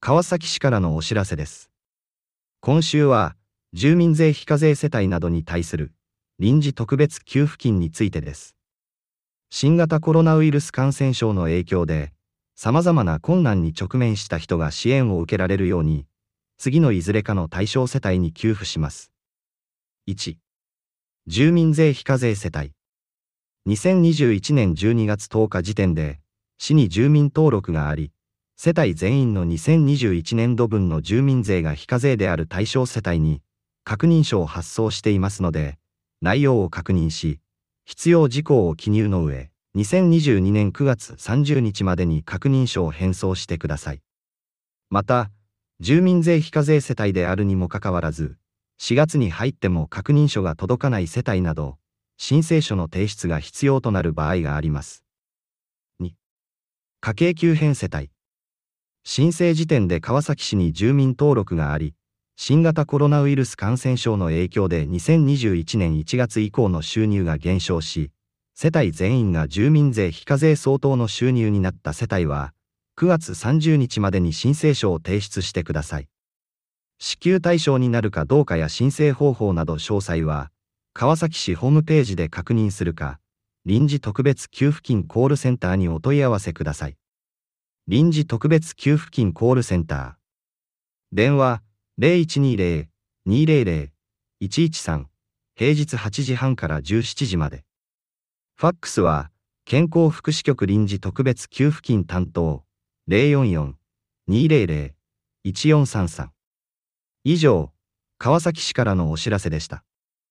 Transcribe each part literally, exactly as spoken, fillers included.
川崎市からのお知らせです。今週は、住民税非課税世帯などに対する臨時特別給付金についてです。新型コロナウイルス感染症の影響で、様々な困難に直面した人が支援を受けられるように、次のいずれかの対象世帯に給付します。いち、住民税非課税世帯。にせんにじゅういちねんじゅうにがつとおか時点で、市に住民登録があり、世帯全員のにせんにじゅういちねんどぶんの住民税が非課税である対象世帯に、確認書を発送していますので、内容を確認し、必要事項を記入の上、にせんにじゅうにねんくがつさんじゅうにちまでに確認書を返送してください。また、住民税非課税世帯であるにもかかわらず、しがつに入っても確認書が届かない世帯など、申請書の提出が必要となる場合があります。に、家計急変世帯。申請時点で川崎市に住民登録があり、新型コロナウイルス感染症の影響でにせんにじゅういちねんいちがつ以降の収入が減少し、世帯全員が住民税非課税相当の収入になった世帯は、くがつさんじゅうにちまでに申請書を提出してください。支給対象になるかどうかや申請方法など詳細は、川崎市ホームページで確認するか、臨時特別給付金コールセンターにお問い合わせください。臨時特別給付金コールセンター。電話 ゼロいちにゼロ にゼロゼロ いちいちさん、平日はちじはんからじゅうしちじまで。ファックスは、健康福祉局臨時特別給付金担当 ゼロよんよん にゼロゼロ いちよんさんさん。以上、川崎市からのお知らせでした。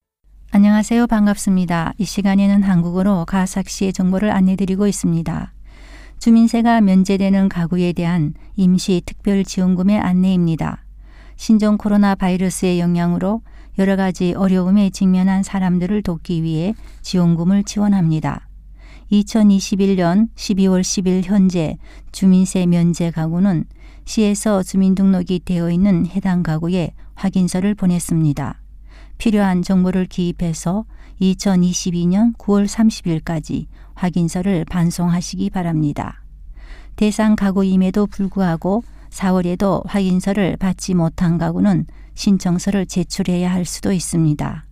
안녕하세요. 반갑습니다. 이 시간에는 한국어로 가와사키시의 정보를 안내드리고 있습니다. 주민세가 면제되는 가구에 대한 임시 특별지원금의 안내입니다. 신종 코로나 바이러스의 영향으로 여러 가지 어려움에 직면한 사람들을 돕기 위해 지원금을 지원합니다. 이천이십일 년 십이월 십일 현재 주민세 면제 가구는 시에서 주민등록이 되어 있는 해당 가구에 확인서를 보냈습니다. 필요한 정보를 기입해서 이천이십이 년 구월 삼십일까지 확인서를 반송하시기 바랍니다. 대상 가구임에도 불구하고 사월에도 확인서를 받지 못한 가구는 신청서를 제출해야 할 수도 있습니다.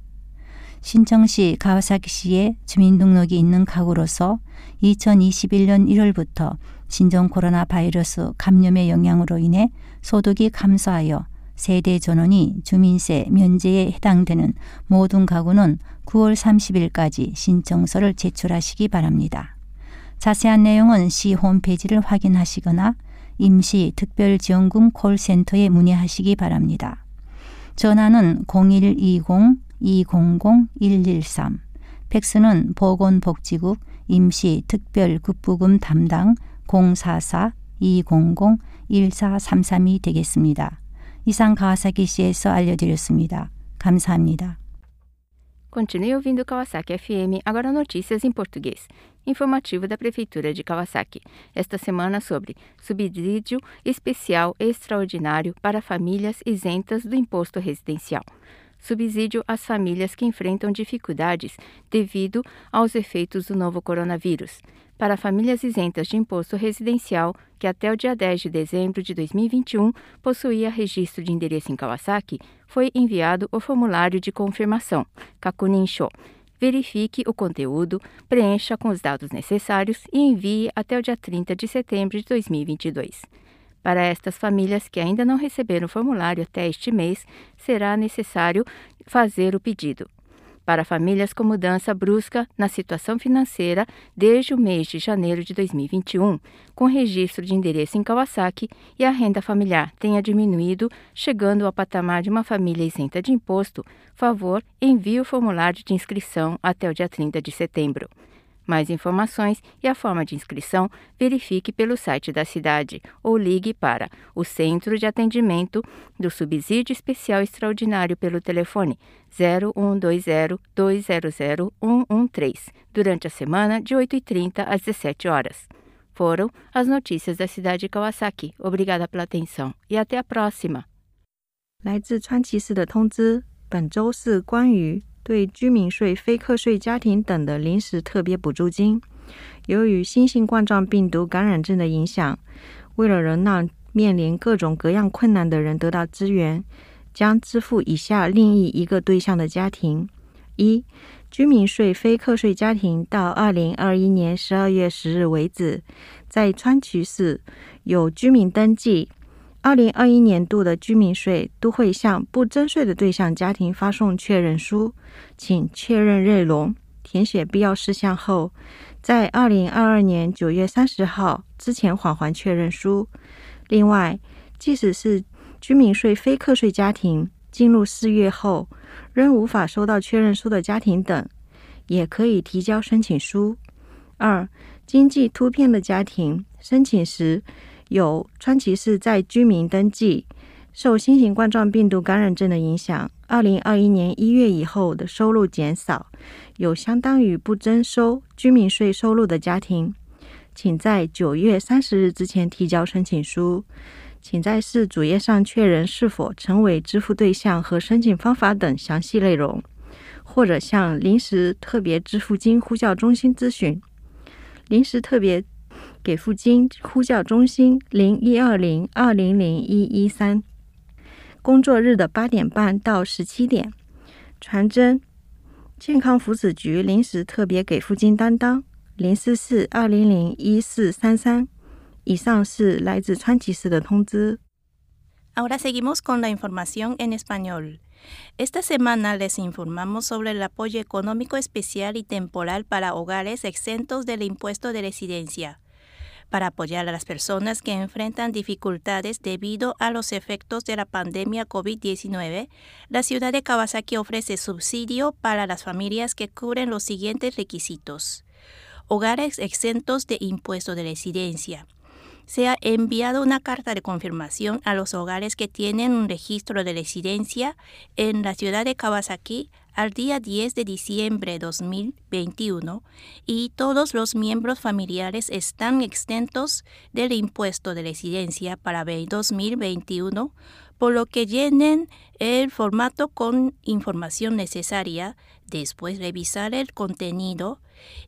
신청 시 가와사키시에 주민등록이 있는 가구로서 이천이십일 년 일월부터 신종 코로나 바이러스 감염의 영향으로 인해 소득이 감소하여 세대 전원이 주민세 면제에 해당되는 모든 가구는 구월 삼십일까지 신청서를 제출하시기 바랍니다. 자세한 내용은 시 홈페이지를 확인하시거나 임시 특별지원금 콜센터에 문의하시기 바랍니다. 전화는 공일이공 이공공 일일삼, 팩스는 보건복지국 임시특별급부금 담당 공사사 이공공 일사삼삼이 되겠습니다. 이상 가와사키시에서 알려드렸습니다. 감사합니다. Continue ouvindo Kawasaki F M, agora notícias em português. Informativo da Prefeitura de Kawasaki. Esta semana sobre subsídio especial extraordinário para famílias isentas do imposto residencial. Subsídio às famílias que enfrentam dificuldades devido aos efeitos do novo coronavírus. Para famílias isentas de imposto residencial, que até o dia dez de dezembro de dois mil e vinte e um possuía registro de endereço em Kawasaki, foi enviado o formulário de confirmação, Kakunin-sho. Verifique o conteúdo, preencha com os dados necessários e envie até o dia trinta de setembro de dois mil e vinte e dois. Para estas famílias que ainda não receberam o formulário até este mês, será necessário fazer o pedido. Para famílias com mudança brusca na situação financeira desde o mês de janeiro de dois mil e vinte e um, com registro de endereço em Kawasaki e a renda familiar tenha diminuído, chegando ao patamar de uma família isenta de imposto, favor, envie o formulário de inscrição até o dia trinta de setembro. Mais informações e a forma de inscrição, verifique pelo site da cidade ou ligue para o Centro de Atendimento do Subsídio Especial Extraordinário pelo telefone zero um dois zero dois zero zero um um três durante a semana de oito e trinta às dezessete horas. Foram as notícias da cidade de Kawasaki. Obrigada pela atenção e até a próxima. 来自川崎市的通知，本周是关于对居民税、非课税家庭等的临时特别补助金。由于新型冠状病毒感染症的影响，为了能让面临各种各样困难的人得到支援，将支付以下另一一个对象的家庭：一、居民税非课税家庭到二零二一年十二月十日为止，在川崎市有居民登记，二零二一年度的居民税都会向不征税的对象家庭发送确认书，请确认内容，填写必要事项后，在二零二二年九月三十号之前返还确认书。另外，即使是居民税非课税家庭进入四月后仍无法收到确认书的家庭等，也可以提交申请书。二、经济突变的家庭申请时有川崎市在居民登记，受新型冠状病毒感染症的影响，二零二一年一月以后的收入减少，有相当于不征收居民税收入的家庭，请在九月三十日之前提交申请书。请在市主页上确认是否成为支付对象和申请方法等详细内容，或者向临时特别支付金呼叫中心咨询。临时特别给付金呼叫中心零一二零二零零一一三，工作日的八点半到十七点。传真健康福祉局临时特别给付金担当零四四二零零一四三三。以上是来自川崎市的通知。 Ahora seguimos con la información en español. Esta semana les informamos sobre el apoyo económico especial y temporal para hogares exentos del impuesto de residencia, para apoyar a las personas que enfrentan dificultades debido a los efectos de la pandemia COVID diecinueve. La ciudad de Kawasaki ofrece subsidio para las familias que cubren los siguientes requisitos. Hogares exentos de impuesto de residencia. Se ha enviado una carta de confirmación a los hogares que tienen un registro de residencia en la ciudad de Kawasaki al día diez de diciembre de dos mil veintiuno y todos los miembros familiares están exentos del impuesto de residencia para dos mil veintiuno, por lo que llenen el formato con información necesaria, después revisar el contenido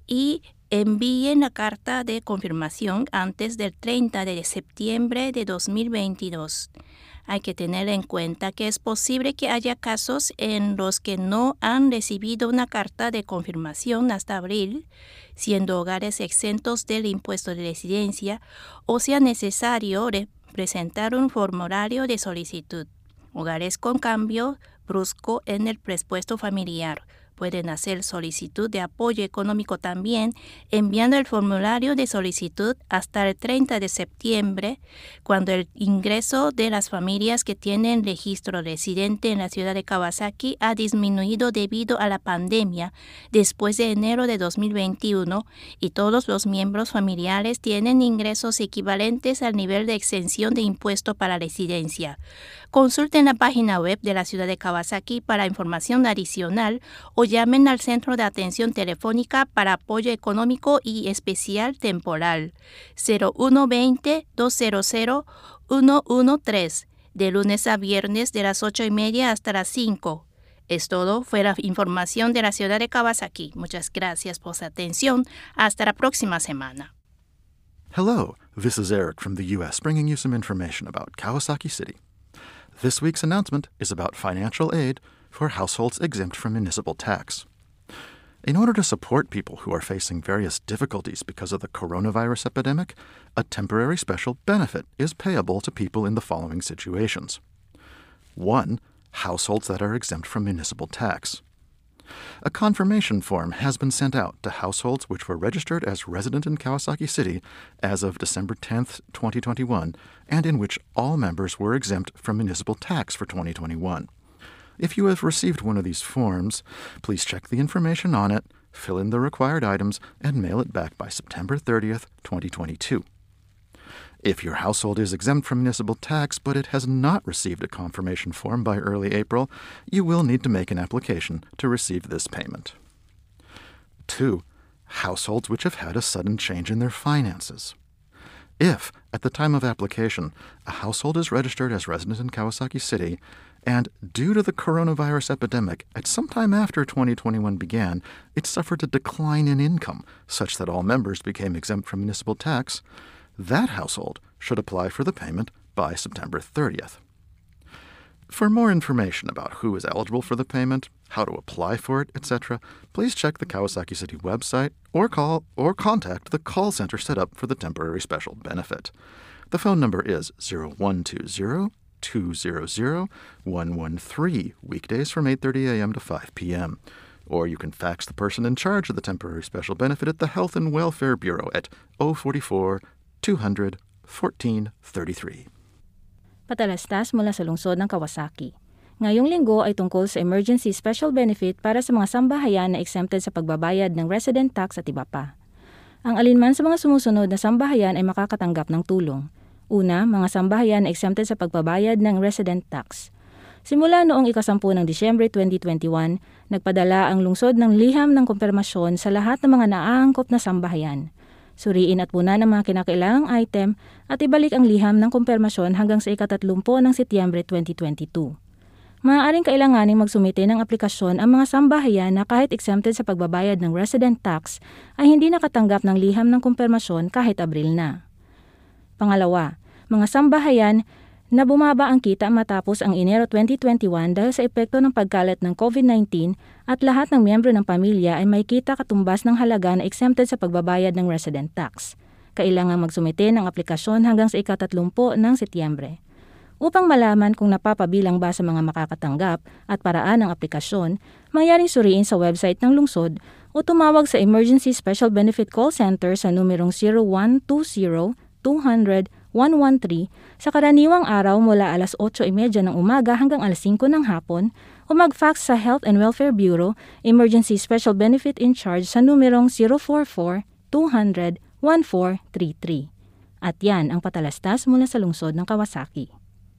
y envíen la carta de confirmación antes del treinta de septiembre de dos mil veintidós. Hay que tener en cuenta que es posible que haya casos en los que no han recibido una carta de confirmación hasta abril, siendo hogares exentos del impuesto de residencia, o sea necesario presentar un formulario de solicitud. Hogares con cambio brusco en el presupuesto familiar pueden hacer solicitud de apoyo económico también enviando el formulario de solicitud hasta el treinta de septiembre, cuando el ingreso de las familias que tienen registro residente en la ciudad de Kawasaki ha disminuido debido a la pandemia después de enero de dos mil veintiuno y todos los miembros familiares tienen ingresos equivalentes al nivel de exención de impuesto para residencia. Consulten la página web de la ciudad de Kawasaki para información adicional o llamen al Centro de Atención Telefónica para Apoyo Económico y Especial Temporal cero uno veinte, doscientos uno trece de lunes a viernes de las ocho y media hasta las cinco. Es todo, fue la información de la ciudad de Kawasaki. Muchas gracias por su atención. Hasta la próxima semana. Hello, this is Eric from the U S bringing you some information about Kawasaki City. This week's announcement is about financial aid for households exempt from municipal tax. In order to support people who are facing various difficulties because of the coronavirus epidemic, a temporary special benefit is payable to people in the following situations. One, households that are exempt from municipal tax. A confirmation form has been sent out to households which were registered as resident in Kawasaki City as of December tenth, twenty twenty-one, and in which all members were exempt from municipal tax for twenty twenty-one. If you have received one of these forms, please check the information on it, fill in the required items, and mail it back by September thirtieth, twenty twenty-two. If your household is exempt from municipal tax but it has not received a confirmation form by early April, you will need to make an application to receive this payment. Two, households which have had a sudden change in their finances. If, at the time of application, a household is registered as resident in Kawasaki City, and due to the coronavirus epidemic, at some time after twenty twenty-one began, it suffered a decline in income such that all members became exempt from municipal tax, that household should apply for the payment by September thirtieth. For more information about who is eligible for the payment, how to apply for it, et cetera, please check the Kawasaki City website or call or contact the call center set up for the temporary special benefit. The phone number is zero one two zero, two zero zero, one one three, weekdays from eight thirty a.m. to five p.m. Or you can fax the person in charge of the temporary special benefit at the Health and Welfare Bureau at zero four four, two hundred, fourteen thirty-three. Patalastas mula sa lungsod ng Kawasaki. Ngayong linggo ay tungkol sa emergency special benefit para sa mga sambahayan na exempted sa pagbabayad ng resident tax at iba pa. Ang alinman sa mga sumusunod na sambahayan ay makakatanggap ng tulong. Una, mga sambahayan na exempted sa pagbabayad ng resident tax. Simula noong ikasampu ng Disyembre twenty twenty-one, nagpadala ang lungsod ng liham ng kumpirmasyon sa lahat ng mga naaangkop na sambahayan. Suriin at punan ang mga kinakailangang item at ibalik ang liham ng kumpirmasyon hanggang sa ikatatlumpo ng Setyembre twenty twenty-two. Maaaring kailanganing magsumite ng aplikasyon ang mga sambahayan na kahit exempted sa pagbabayad ng resident tax ay hindi nakatanggap ng liham ng kumpirmasyon kahit Abril na. Pangalawa, mga sambahayan na bumaba ang kita matapos ang Enero twenty twenty-one dahil sa epekto ng pagkalat ng COVID nineteen at lahat ng miyembro ng pamilya ay may kita katumbas ng halaga na exempted sa pagbabayad ng resident tax. Kailangan magsumite ng aplikasyon hanggang sa ikatatlumpo ng Setyembre. Upang malaman kung napapabilang ba sa mga makakatanggap at paraan ng aplikasyon, mangyaring suriin sa website ng lungsod o tumawag sa Emergency Special Benefit Call Center sa numerong zero one two zero, two hundred, one one three sa karaniwang araw mula alas otso trenta ng umaga hanggang alas singko ng hapon o mag-fax sa Health and Welfare Bureau Emergency Special Benefit in Charge sa numerong zero four four, two hundred, one four three three. At yan ang patalastas mula sa lungsod ng Kawasaki.